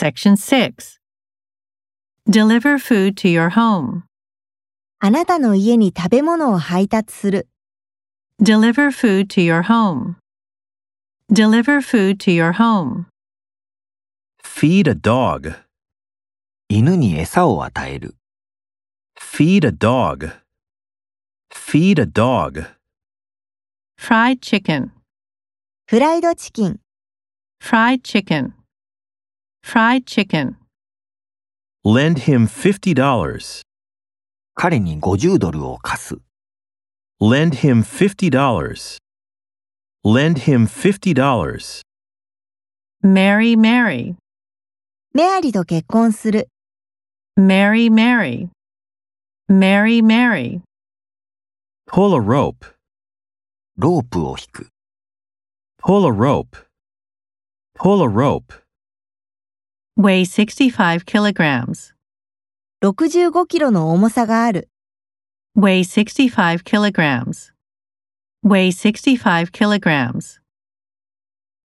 Section 6. Deliver food to your home. あなたの家に食べ物を配達する。 Deliver food to your home. Deliver food to your home. Feed a dog. 犬に餌を与える。 Feed a dog. Feed a dog. Fried chicken. フライドチキン。 Fried chicken. Fried chicken. Lend him $50. 彼に$50を貸す。 Lend him $50. Lend him $50. Marry Mary. メアリと結婚する。 Marry Mary. Marry Mary. Pull a rope. ロープを引く。 Pull a rope. Pull a rope. Weigh 65 kilograms. 65キロの重さがある。 Weigh 65 kilograms. Weigh 65 kilograms.